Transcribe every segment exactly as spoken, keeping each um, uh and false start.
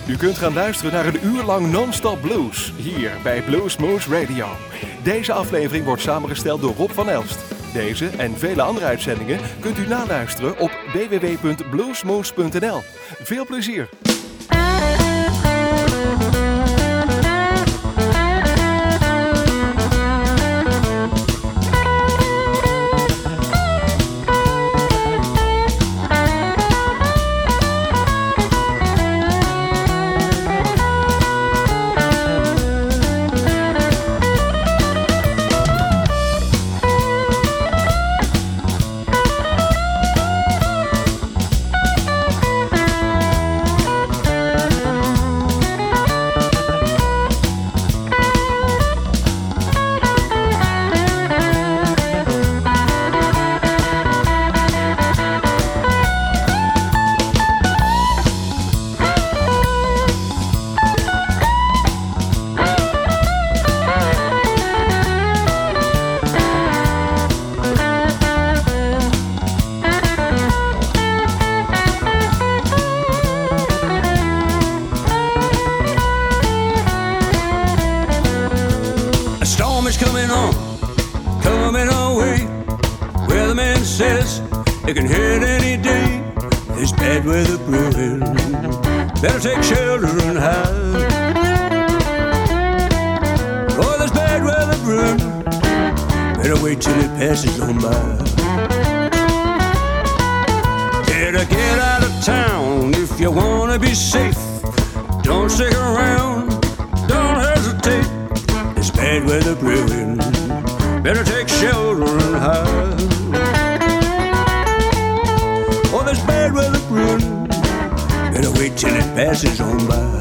U kunt gaan luisteren naar een uur lang non-stop blues, hier bij Bluesmoose Radio. Deze aflevering wordt samengesteld door Rob van Elst. Deze en vele andere uitzendingen kunt u naluisteren op w w w punt bluesmoose punt n l. Veel plezier! It can hit any day. There's bad weather brewing. Better take shelter and hide. Oh, there's bad weather brewing. Better wait till it passes on by. Better get out of town if you wanna be safe. Don't stick around. Don't hesitate. There's bad weather brewing. Better take shelter and hide. Oh, there's bad weather brewing. Better wait till it passes on by.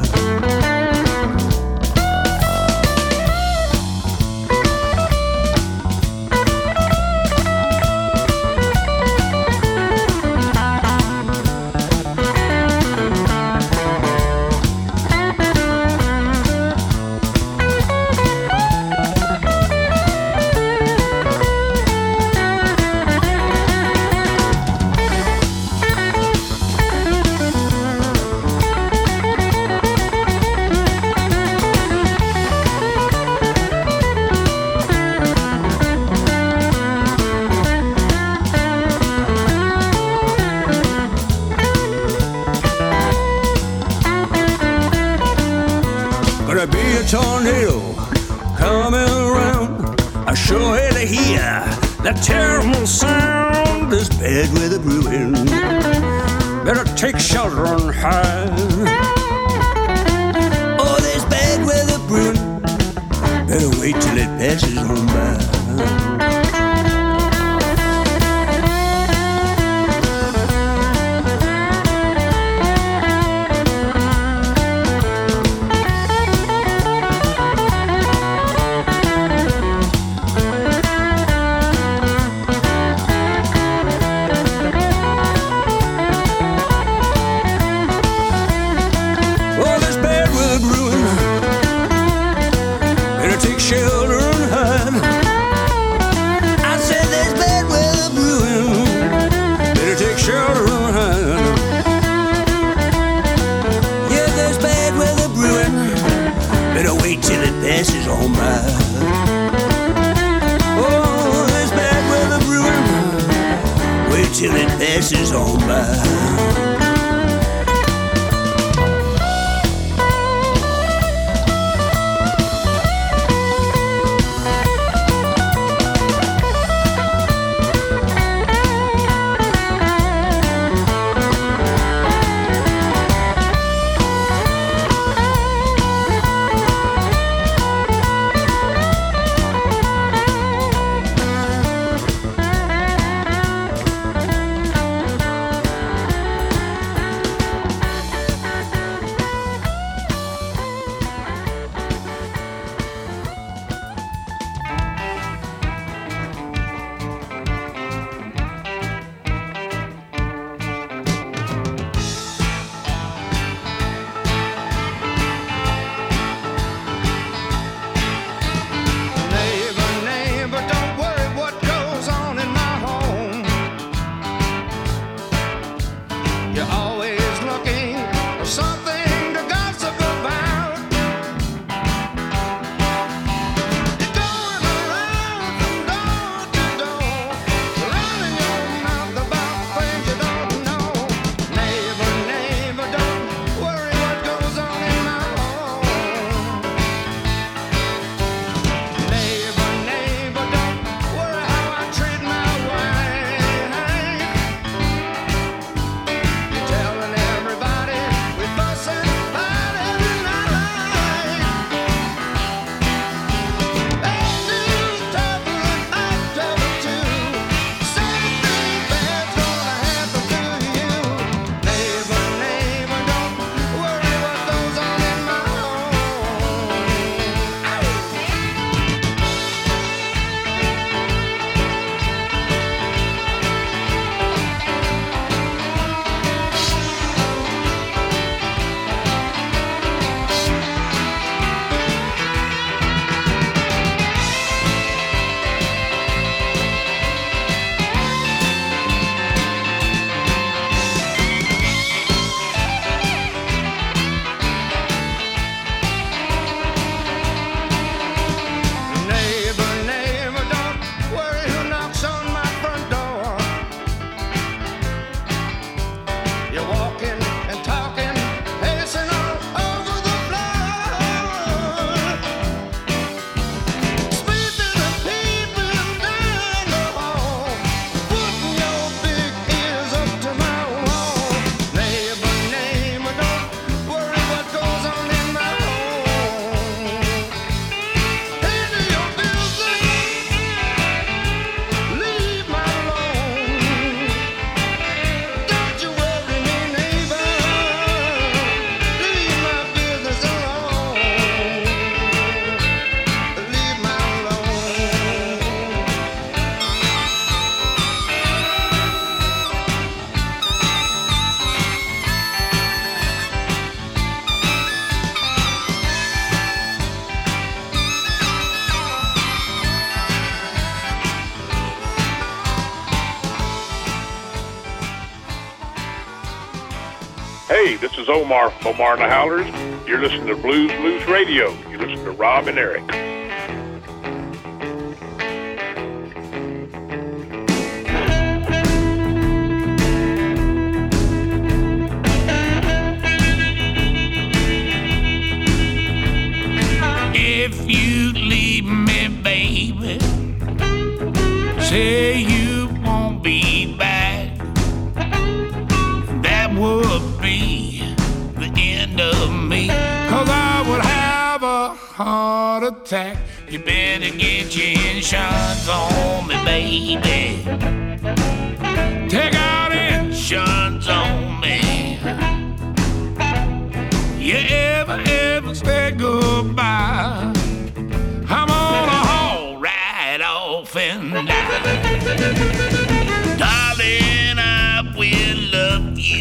Tornado coming around. I sure hate to hear that terrible sound. There's bad weather brewing. Better take shelter and hide. Oh, there's bad weather brewing. Better wait till it passes on by. Passes on by. Oh, there's bad weather brewing. Wait till it passes on by. You're always looking for something to gossip Hey, this is Omar from Omar and the Howlers. You're listening to Blues Moose Radio. You listen to Rob and Eric. If you leave me, baby, say you won't be back, that would be the end of me, 'cause I would have a heart attack. You better get your insurance on me, baby. Take out insurance on me. You ever, ever say goodbye, I'm on a haul right off and die. Darling, I will love you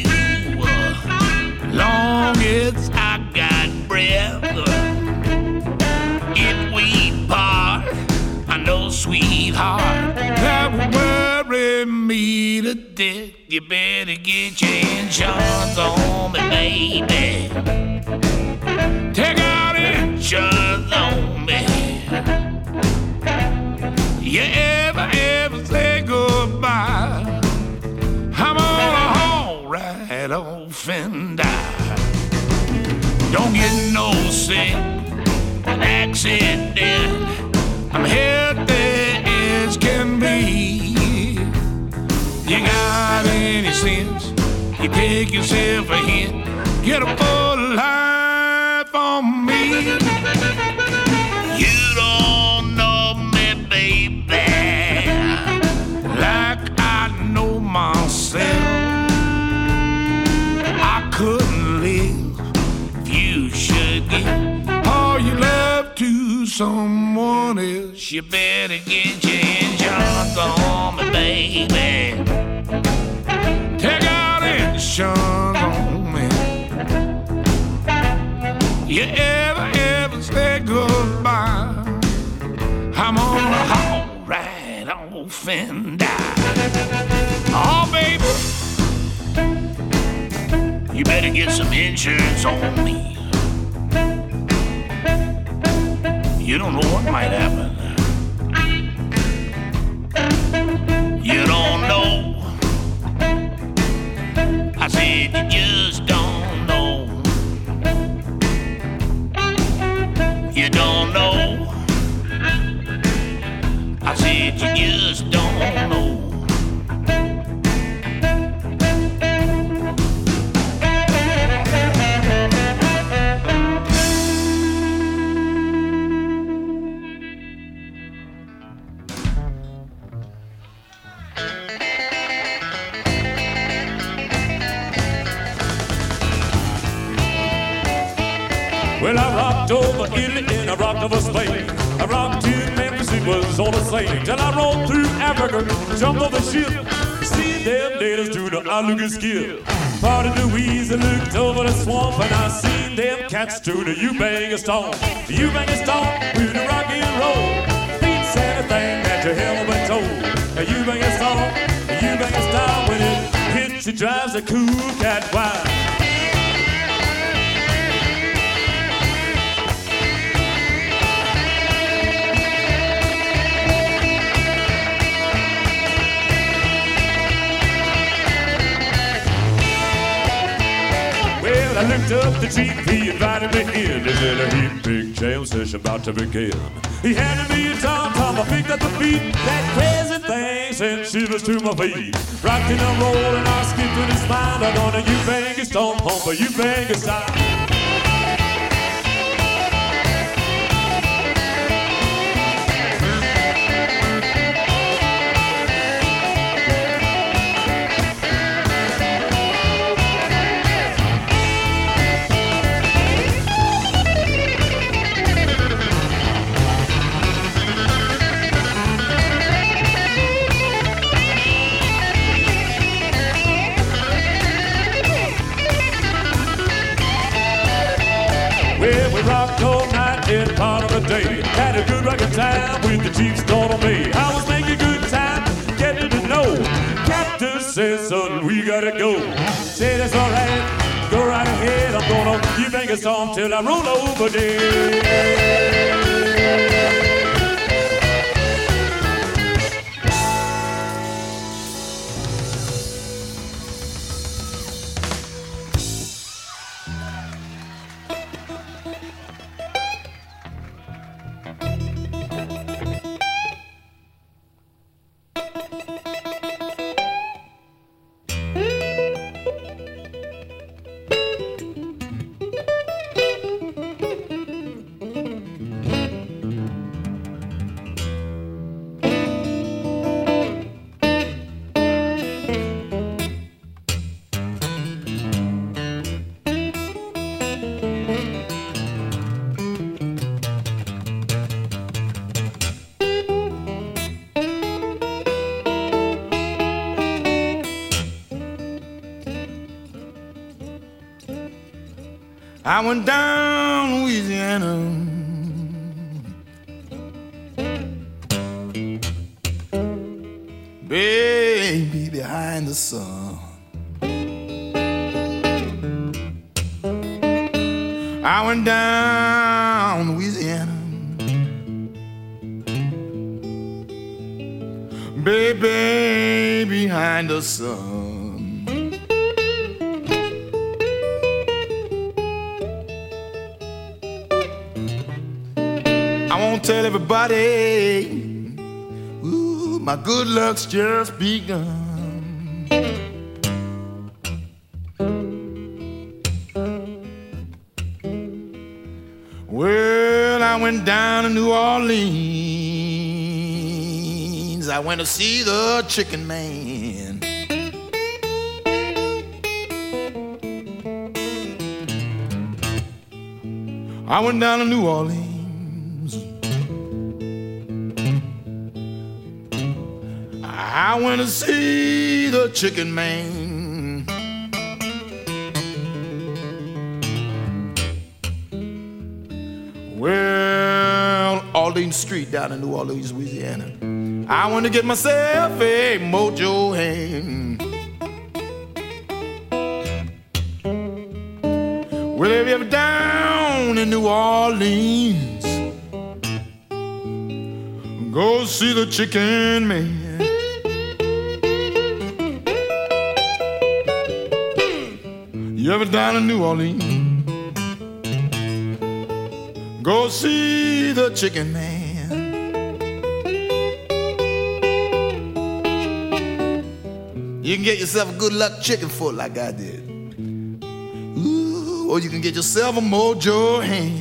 long as I got breath. If we part, I know, sweetheart, that will worry me to death. You better get your insurance on me, baby. Take out insurance on me. You ever, ever say goodbye, I'm on a haul right off and die. Don't get no sick, an accident, I'm healthy as can be. You got any sense, you take yourself a hint, get a full life on me. You don't know me, baby, like I know myself. I couldn't live if you should give all your love to someone else. You better get your insurance on me, baby. Take out insurance on me. You ever, ever say goodbye, I'm on a haul right off and die. Oh, baby, you better get some insurance on me. You don't know what might happen. You don't know. I said you just don't know. You don't know. I said you just don't know. Well, I rocked over Italy and I rocked over Spain. I rocked to Memphis, it was all the same. Till I rolled through Africa, jumped on the ship. See them natives do the Aluga skill. Part of Louise, I looked over the swamp and I seen them cats do the U-Bang-a-Stone. The U-Bang-a-Stone with the rock and roll. Beats anything that you ever been told. The U-Bang-a-Stone, the U-Bang-a-Stone, when it hits, it drives a cool cat wild. I looked up the chief, he invited me in. They said a heap big jam session about to begin. He handed me a tom-tom, I picked up the beat. That crazy thing sent shivers to my feet. Rockin' and rollin', I skipped in his mind. I'm gonna U-Bang-a-Stone, home for U-Bang-a-Stone. Rocked all night and part of the day. Had a good rockin' time with the chief start on me. I was making good time, getting to know. Captain says, son, we gotta go. Say that's alright, Go right ahead, I'm gonna you bang a song till I roll over dead. I went down Louisiana, baby, behind the sun. I went down Louisiana, baby, behind the sun. I won't tell everybody, ooh, my good luck's just begun. Well, I went down to New Orleans. I went to see the Chicken Man. I went down to New Orleans. I went to see the Chicken Man. Well, Orleans Street down in New Orleans, Louisiana. I went to get myself a mojo hand. Well, if you're down in New Orleans, go see the Chicken Man. You ever down in New Orleans, go see the Chicken Man. You can get yourself a good luck chicken foot like I did. Ooh, or you can get yourself a mojo hand.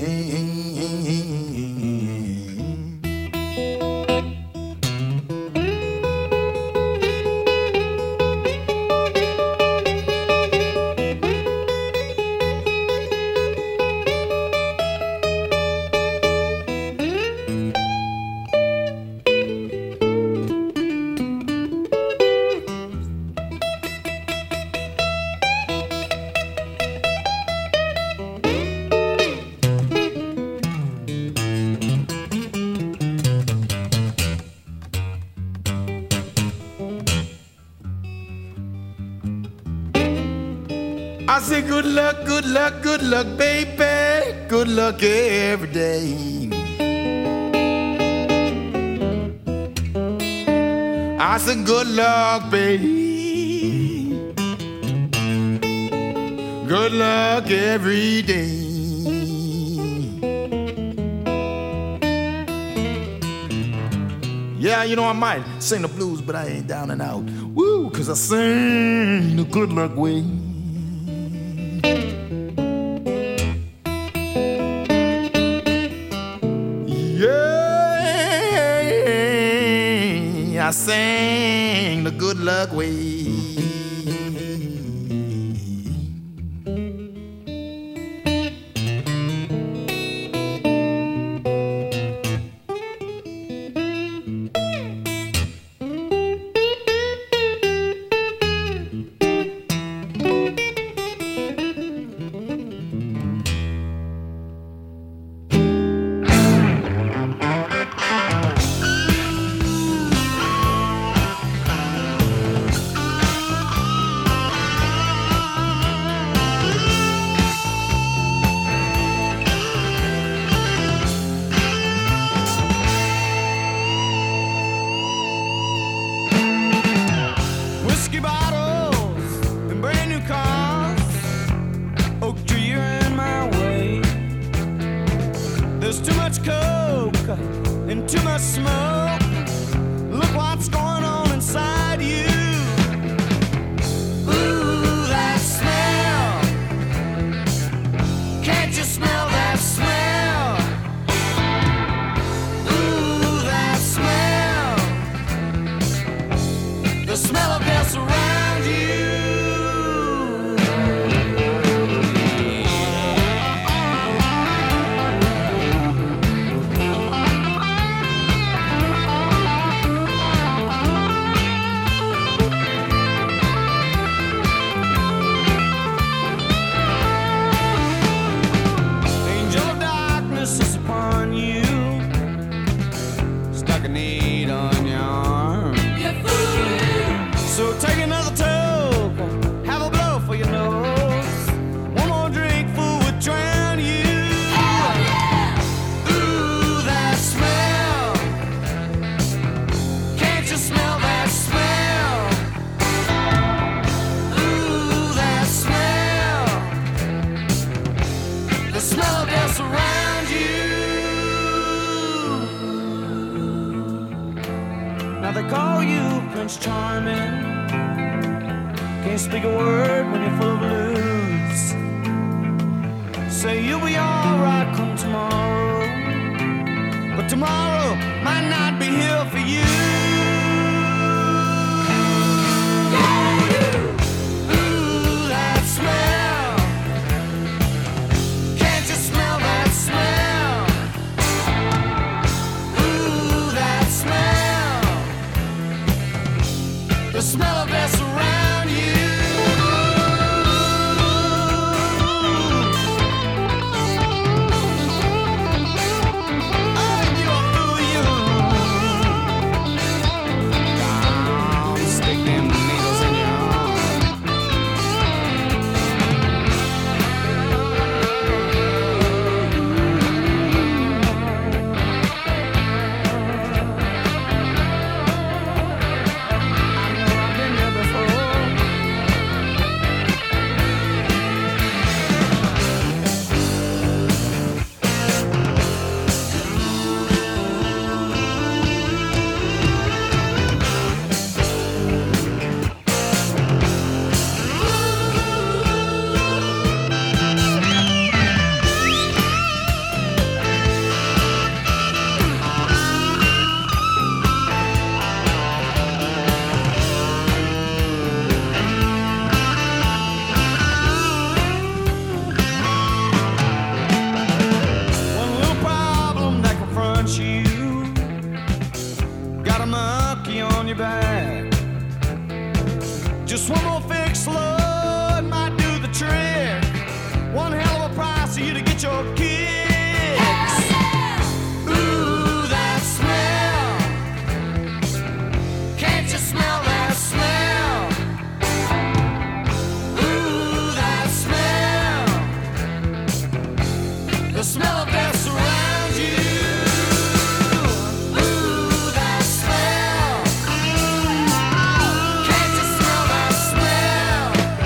I say good luck, good luck, good luck, baby. Good luck every day. I said good luck, baby. Good luck every day. Yeah, you know I might sing the blues, but I ain't down and out. Woo, 'cause I sing the good luck way. I sang the good luck way. much coke and too much smoke. Look what's going on inside you. Ooh, that smell. Can't you smell that smell? Ooh, that smell. The smell of death around you. So take another toke, have a blow for your nose. One more drink, fool, would drown you. Oh, yeah. Ooh, that smell. Can't you smell that smell? Ooh, that smell. The smell of death around you. Now they call you Prince Charming. Can't speak a word when you're full of blues. Say you'll be alright come tomorrow, but tomorrow might not be here for you. Yeah. Ooh, that smell. Can't you smell that smell? Ooh, that smell. The smell of death around you. Smell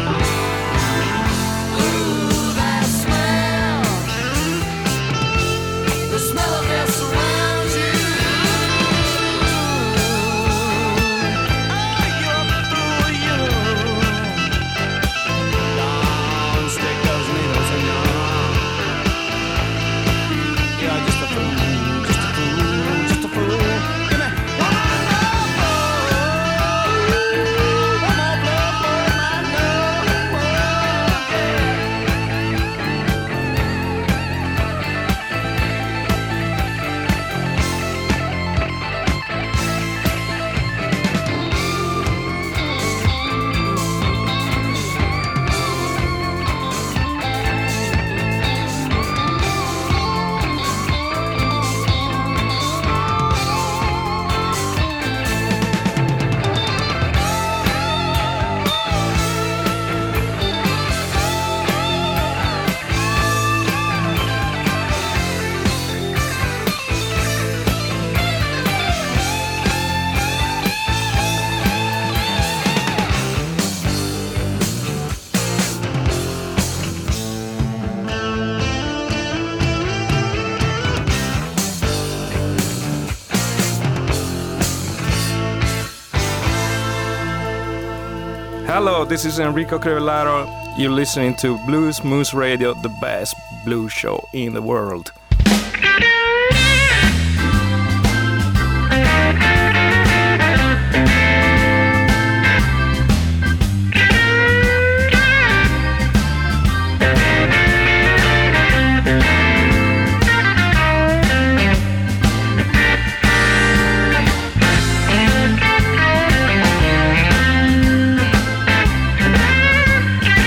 Hello, this is Enrico Crivellaro. You're listening to Blues Moose Radio, the best blues show in the world.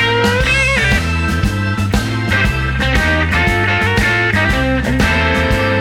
Thank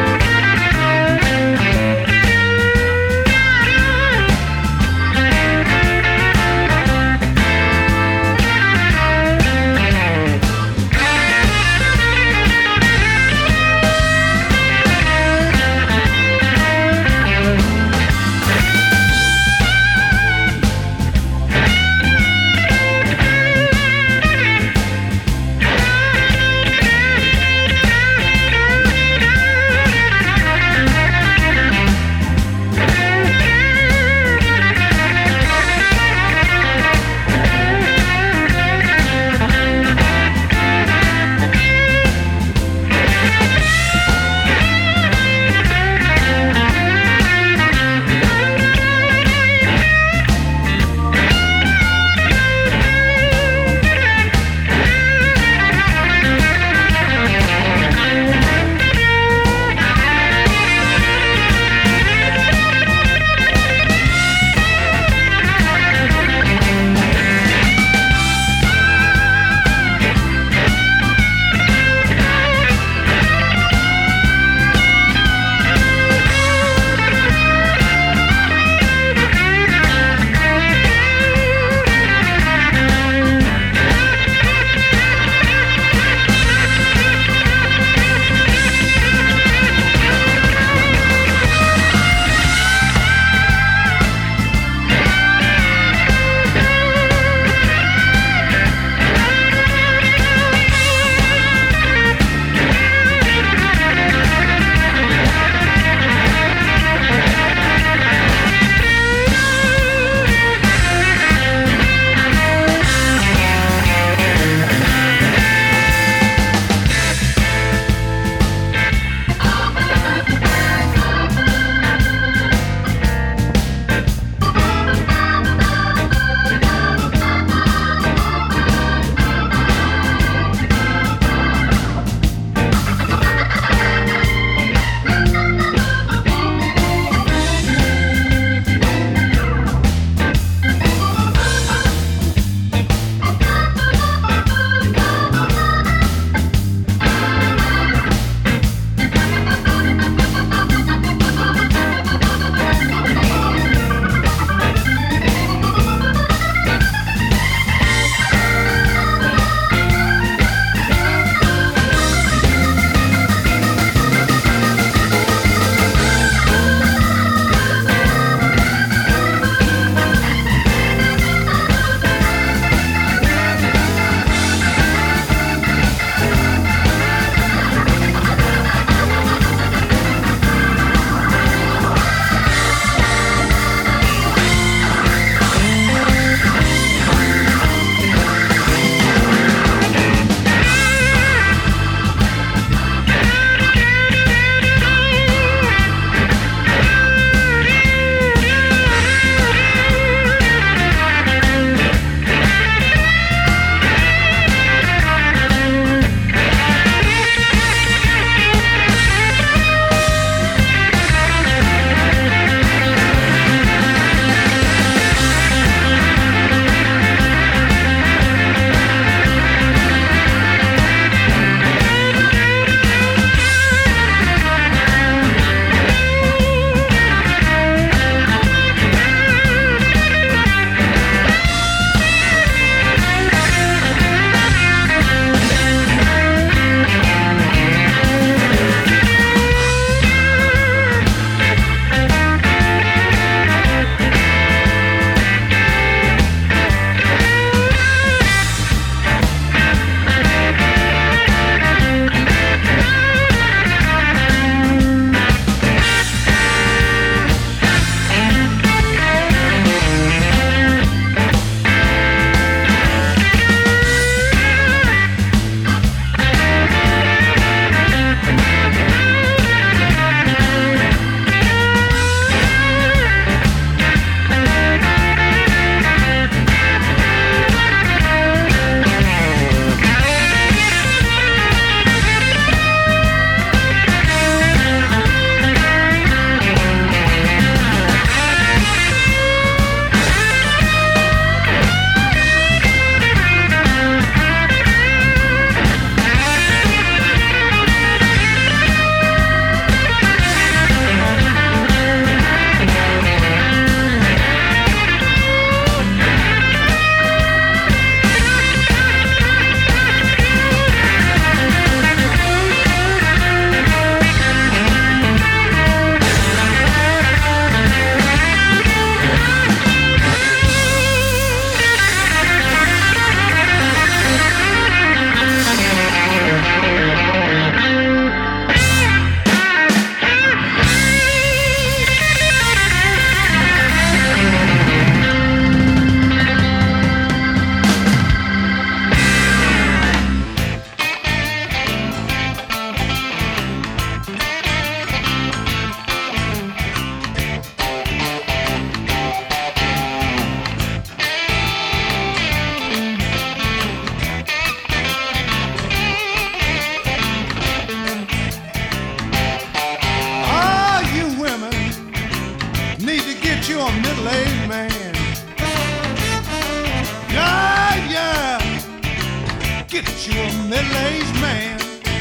middle-aged man.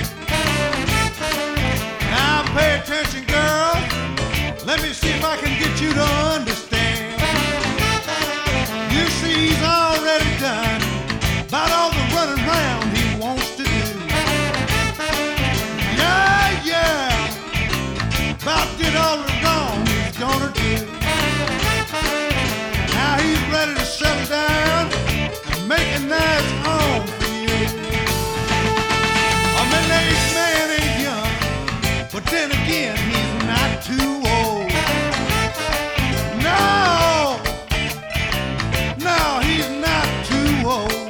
Now pay attention, girl. Let me see if I can get you to understand. You see, he's already done about all the running around he wants to do. Yeah, yeah, about did all the wrong he's gonna do. Now he's ready to settle down and make a nice home for you. A middle-aged man ain't young, but then again, he's not too old. No, no, he's not too old.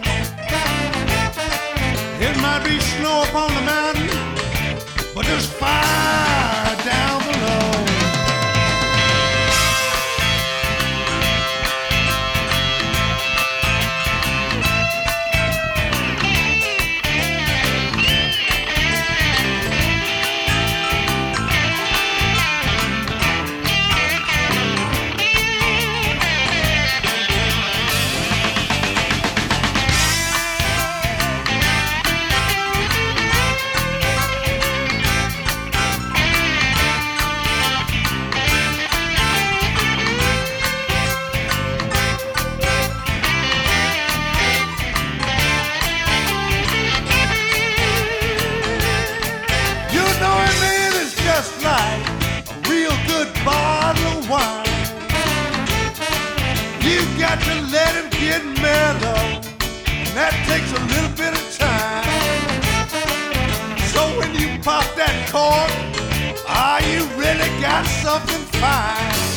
It might be snow upon the mountain, but there's fire down below. To let him get mellow, and that takes a little bit of time. So when you pop that cork, ah, you really got something fine.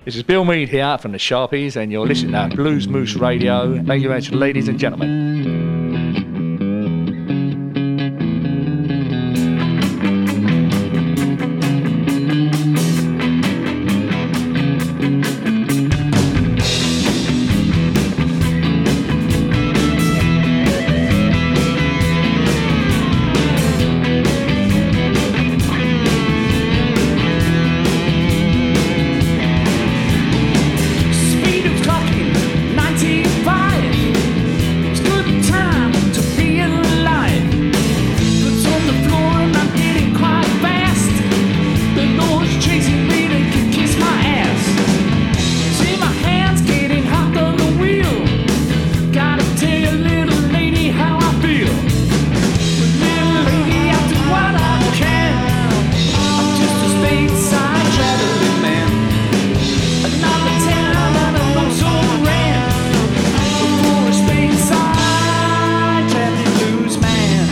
This is Bill Mead here from the Sharpies, and you're listening to Blues Moose Radio. Thank you very much, ladies and gentlemen. Speed of clocking, ninety-five. It's good time to be alive. Foot's on the floor and I'm getting quite fast. The Lord's chasing me, they can kiss my ass. See my hands getting hot on the wheel. Gotta tell you, little lady, how I feel. But little lady, I do what I can. I'm just a stateside traveling man. Another town and a lonesome ran. Before a stateside traveling blues man.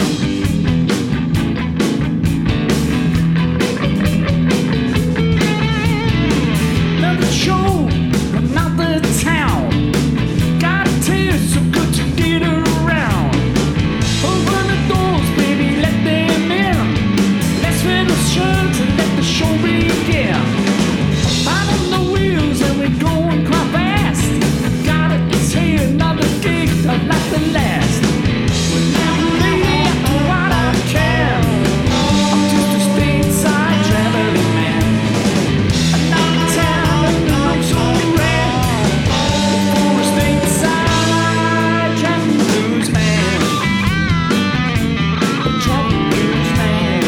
Another show, another town. Gotta tell you, it's so good to get around. Open the doors, baby, let them in. Let's wear the shirts and let the show begin. Out on the wheels and we're going quite fast. Gotta tell you, another gig of like the last. Well, little lady, I do what I can. I'm just a stateside traveling man. Another town and the lonesome ran. Before a stateside traveling blues man. A traveling blues man.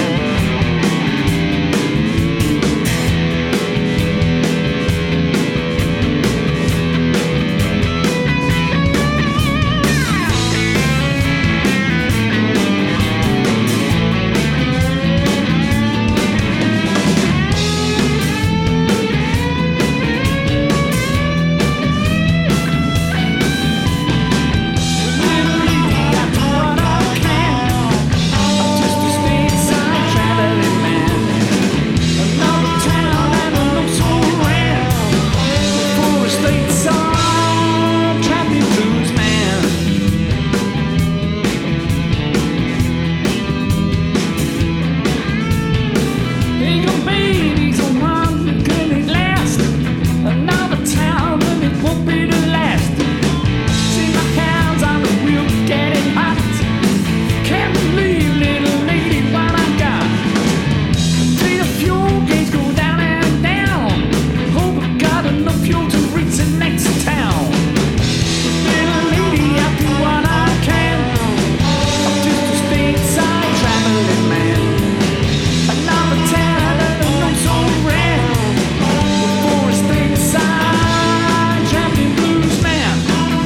Another town and it won't be the last. See my hands on the wheel getting hot. Can't believe, little lady, what I got. See the fuel gauge go down and down. Hope I got enough fuel to reach the next town. Little lady, I do what I can. I'm just a stateside traveling man. Another town and a lonesome ran. Before a stateside traveling blues man.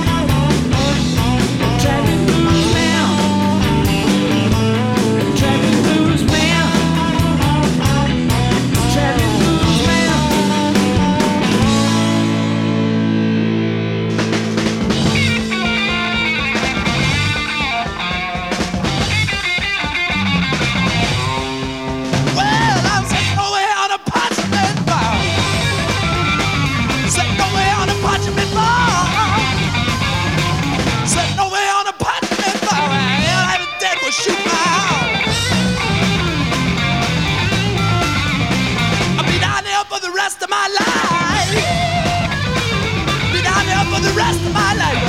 Traveling blues man. Traveling blues man. Traveling blues man. Well, I'm sitting over here on a parchment bar. Sitting over here on a parchment bar. Sitting over here on a parchment bar. And I'm dead will shoot my heart. I'll be down there for the rest of my life. Be down there for the rest of my life.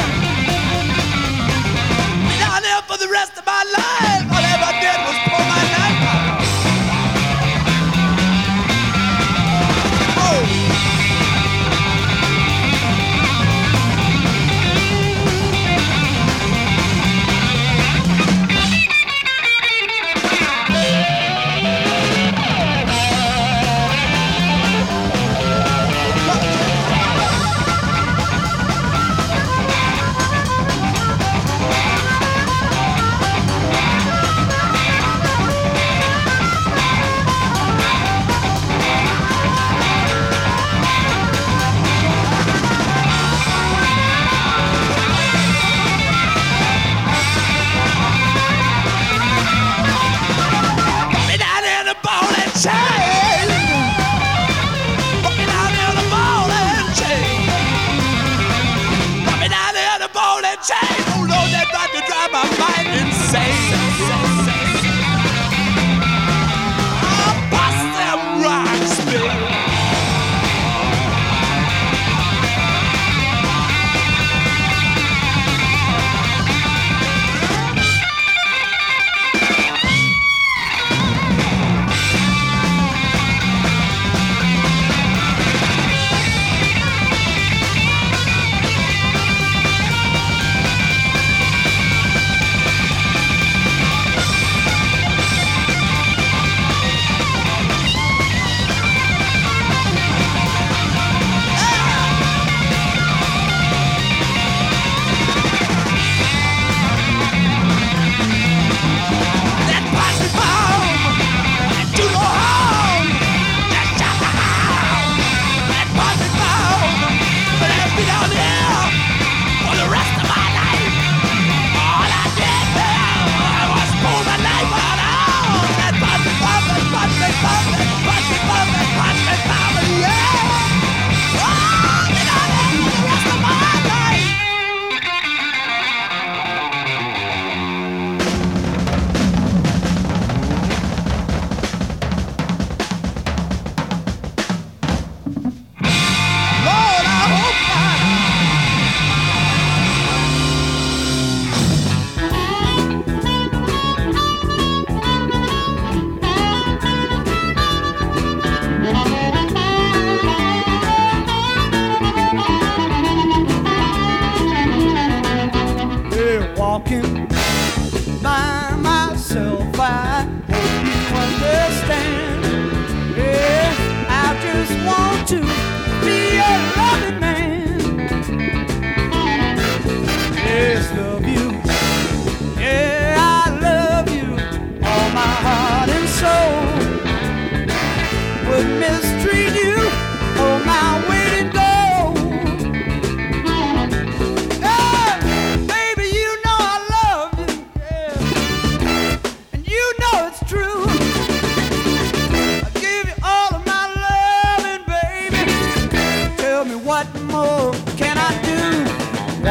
Be down there for the rest of my life. All I ever did was pull my knife out. Oh.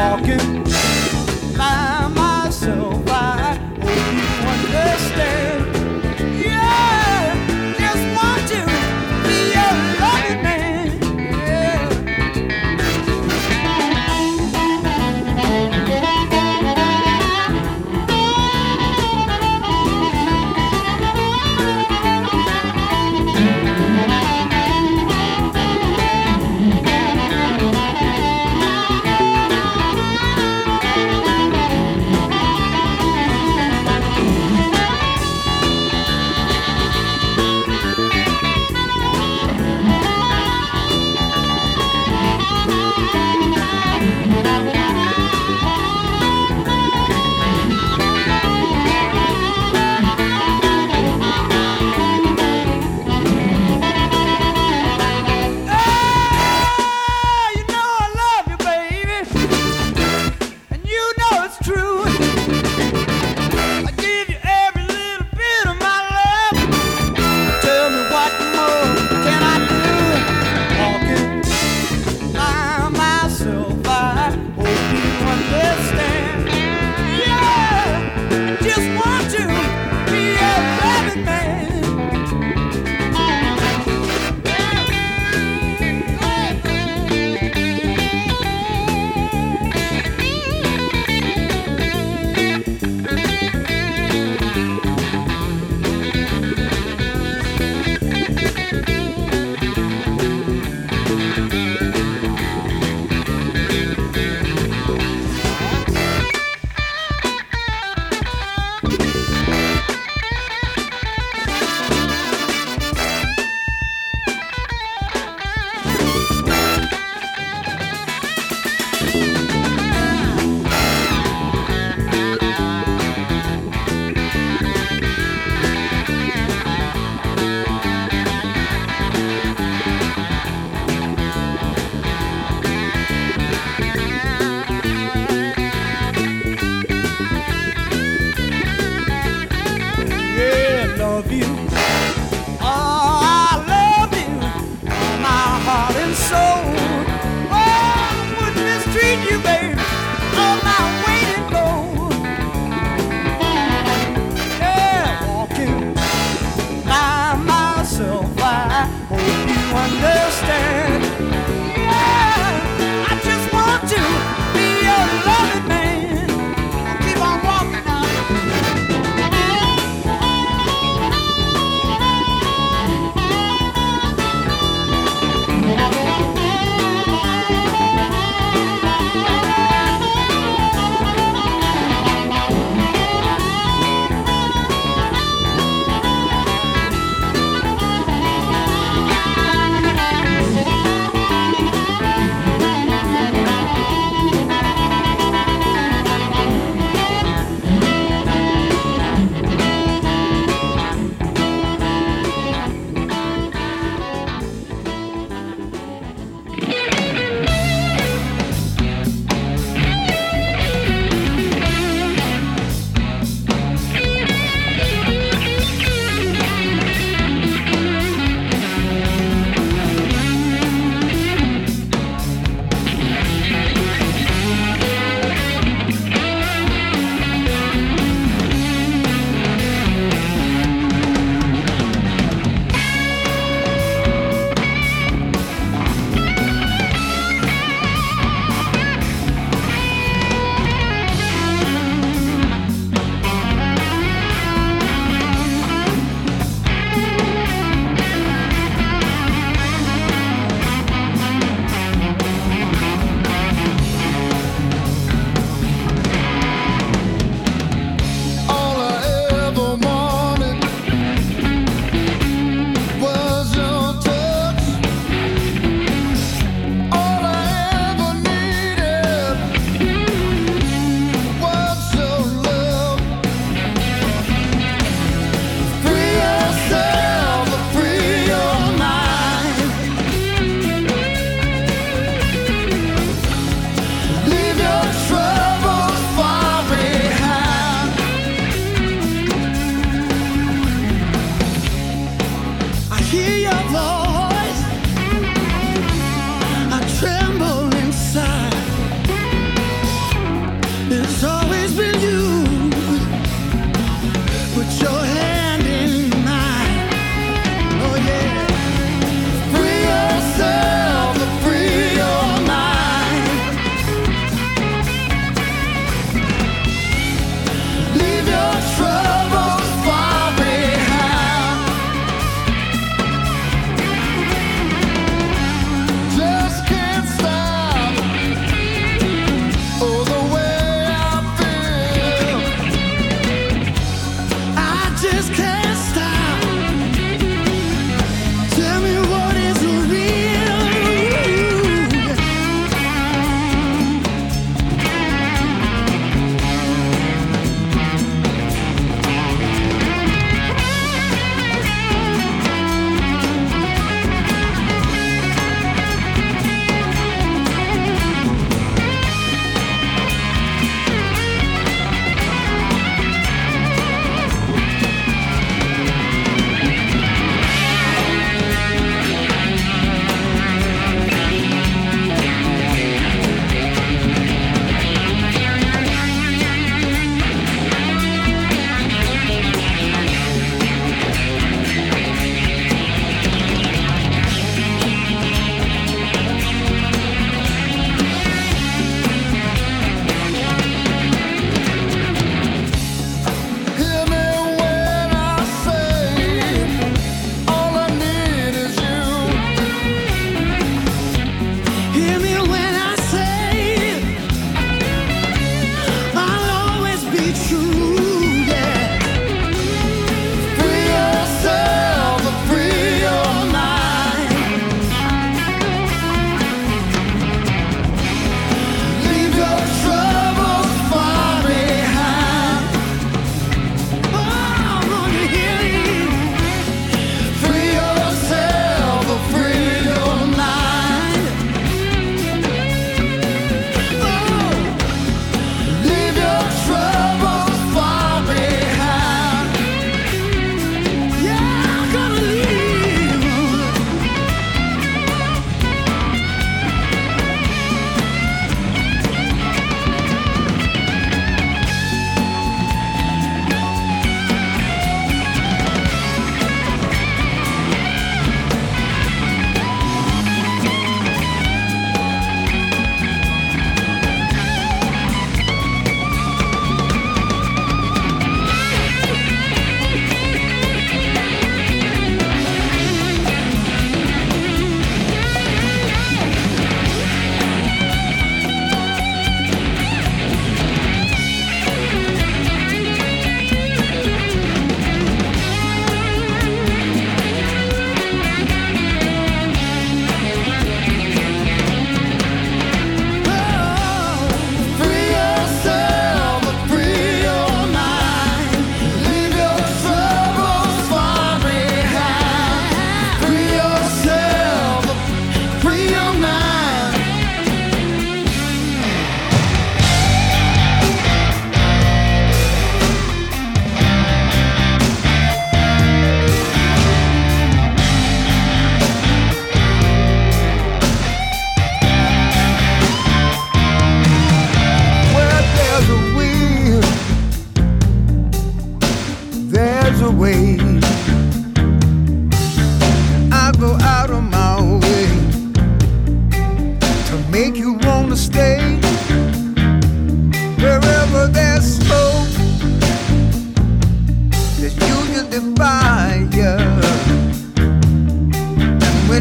walking by myself. I hope you understand. Yeah, just want to be your loving man. Yeah.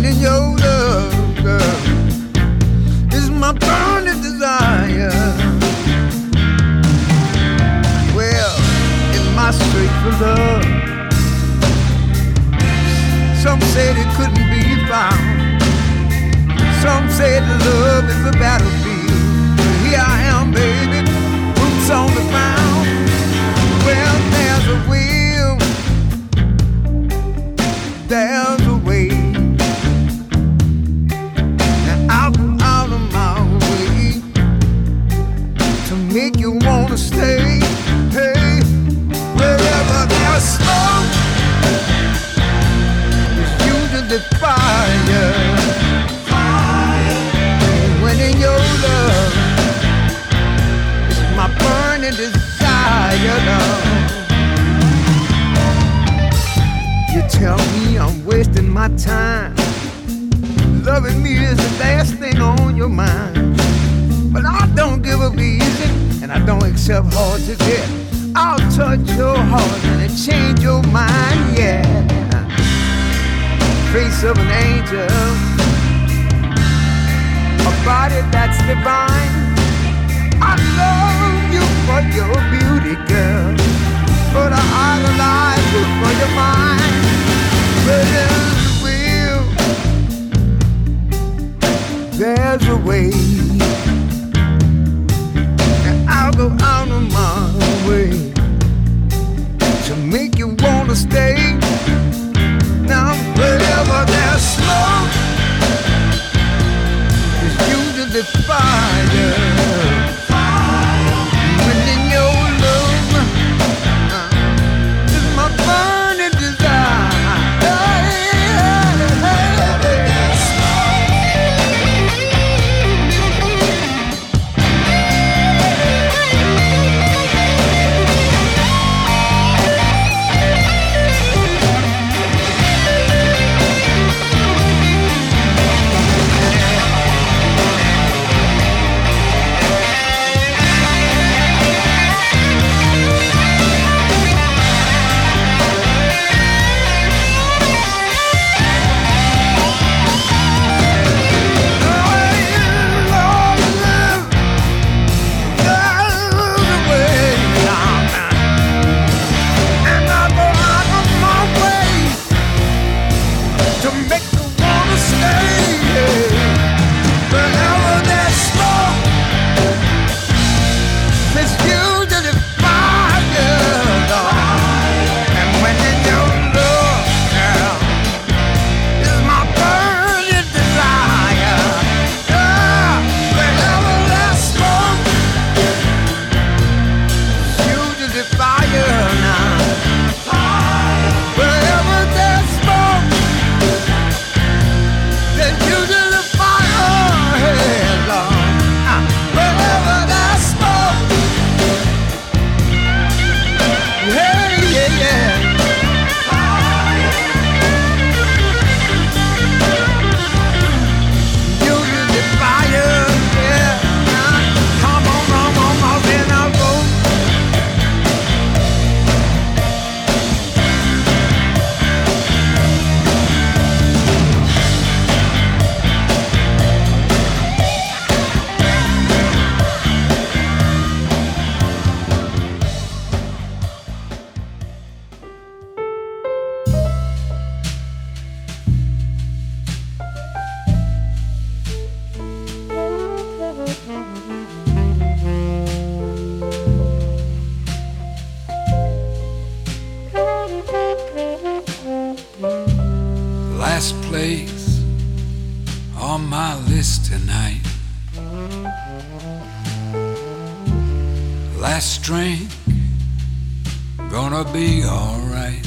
in your love, girl, is my burning desire. Well, in my search for love, some said it couldn't be found. Some said love is a battlefield. Here I am, baby, boots on the ground. Well, there's a will, there's a way. And I'll go out of my way to make you wanna stay. Hey, wherever there's smoke, there's usually fire. When in your love, it's my burning desire, love. You tell me I'm wasting my time. Loving me is the last thing on your mind. But I don't give up easy, and I don't accept hard to get. I'll touch your heart and it change your mind, yeah. Face of an angel, a body that's divine. I love you for your beauty, girl, but I idolize you for your mind. But there's a will, there's a way, and I'll go out of my way to make you wanna stay. Now wherever there's smoke, the fire, when in your love uh, is my burning desire. Last drink, gonna be alright.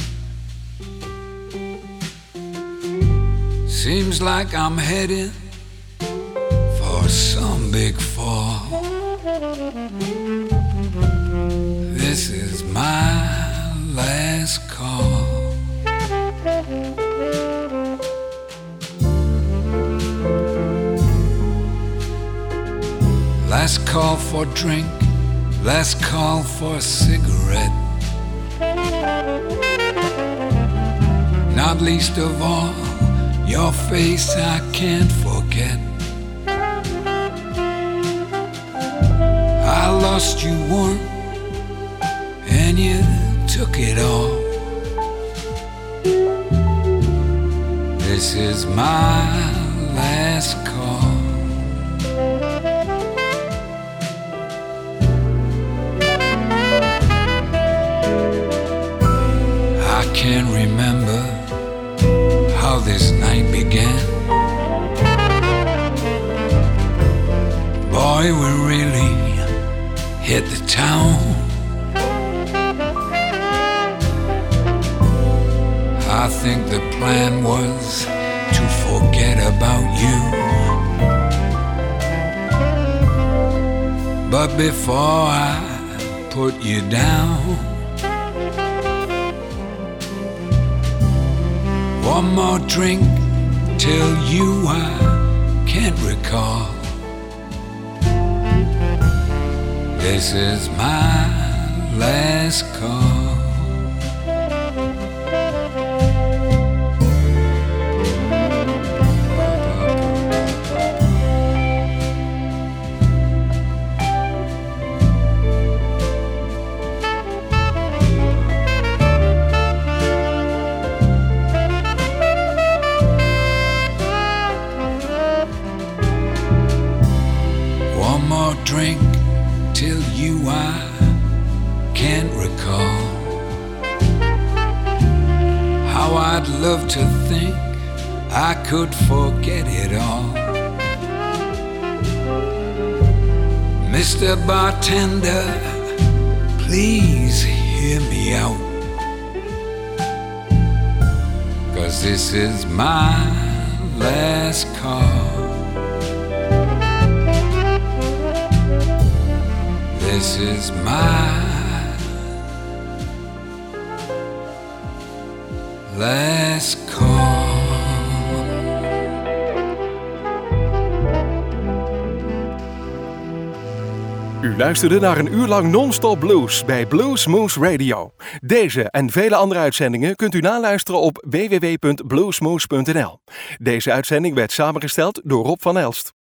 Seems like I'm heading for some big fall. This is my last call. Last call for drink, last call for a cigarette. Not least of all, your Your face I can't forget. I lost you one, and you took it all. This is my last call. I can't remember how this night began. Boy, we really hit the town. I think the plan was to forget about you. But before I put you down, one more drink till you I can't recall. This is my last call. One more drink till you I can't recall. How I'd love to think I could forget it all. Mister Bartender, please hear me out, 'cause this is my last call. This is my last call. U luisterde naar een uur lang non-stop blues bij Blues Moose Radio. Deze en vele andere uitzendingen kunt u naluisteren op w w w punt bluesmoose punt n l. Deze uitzending werd samengesteld door Rob van Elst.